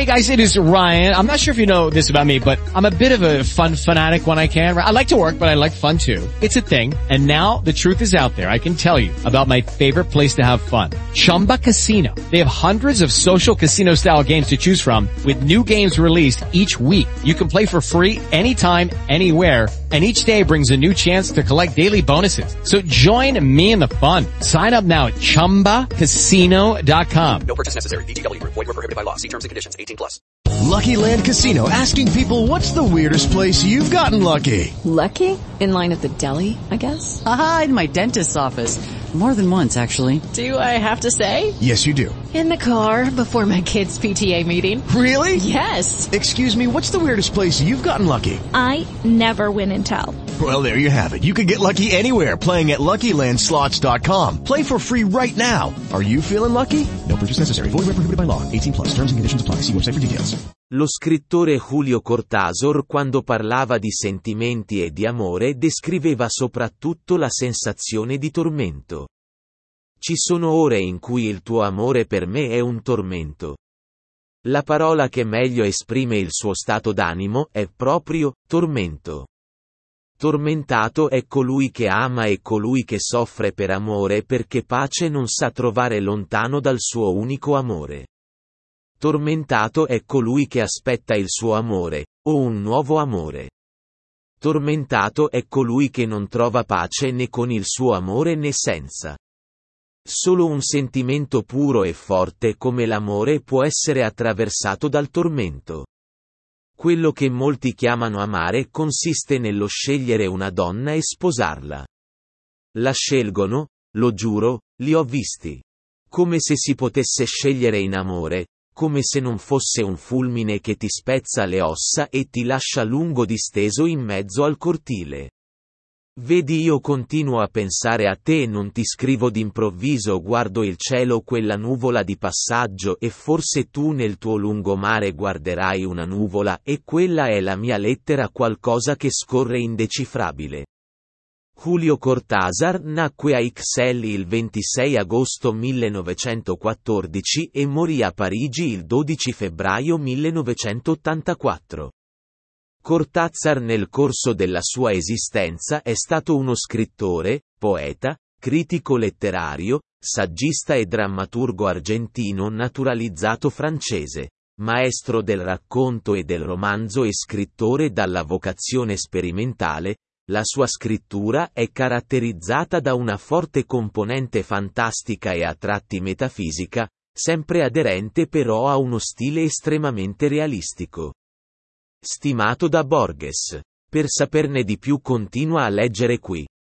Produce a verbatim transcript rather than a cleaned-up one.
Hey guys, it is Ryan. I'm not sure if you know this about me, but I'm a bit of a fun fanatic when I can. I like to work, but I like fun too. It's a thing. And now the truth is out there. I can tell you about my favorite place to have fun. Chumba Casino. They have hundreds of social casino style games to choose from with new games released each week. You can play for free anytime, anywhere. And each day brings a new chance to collect daily bonuses. So join me in the fun. Sign up now at chumba casino dot com. No purchase necessary. V G W Group. Void where prohibited by law. See terms and conditions. eighteen plus. Lucky Land Casino, asking people, what's the weirdest place you've gotten lucky? Lucky? In line at the deli, I guess? Aha, in my dentist's office. More than once, actually. Do I have to say? Yes, you do. In the car before my kids' P T A meeting. Really? Yes. Excuse me, what's the weirdest place you've gotten lucky? I never win and tell. Well, there you have it. You can get lucky anywhere, playing at Lucky Land Slots dot com. Play for free right now. Are you feeling lucky? No purchase necessary. Void where prohibited by law. eighteen plus. Terms and conditions apply. See website for details. Lo scrittore Julio Cortázar, quando parlava di sentimenti e di amore, descriveva soprattutto la sensazione di tormento. Ci sono ore in cui il tuo amore per me è un tormento. La parola che meglio esprime il suo stato d'animo è proprio tormento. Tormentato è colui che ama e colui che soffre per amore perché pace non sa trovare lontano dal suo unico amore. Tormentato è colui che aspetta il suo amore, o un nuovo amore. Tormentato è colui che non trova pace né con il suo amore né senza. Solo un sentimento puro e forte come l'amore può essere attraversato dal tormento. Quello che molti chiamano amare consiste nello scegliere una donna e sposarla. La scelgono, lo giuro, li ho visti. Come se si potesse scegliere in amore, come se non fosse un fulmine che ti spezza le ossa e ti lascia lungo disteso in mezzo al cortile. Vedi, io continuo a pensare a te, non ti scrivo d'improvviso, guardo il cielo, quella nuvola di passaggio, e forse tu nel tuo lungomare guarderai una nuvola, e quella è la mia lettera, qualcosa che scorre indecifrabile. Julio Cortázar nacque a Ixelles il ventisei agosto millenovecentoquattordici e morì a Parigi il dodici febbraio millenovecentottantaquattro. Cortázar nel corso della sua esistenza è stato uno scrittore, poeta, critico letterario, saggista e drammaturgo argentino naturalizzato francese, maestro del racconto e del romanzo e scrittore dalla vocazione sperimentale. La sua scrittura è caratterizzata da una forte componente fantastica e a tratti metafisica, sempre aderente però a uno stile estremamente realistico. Stimato da Borges. Per saperne di più continua a leggere qui.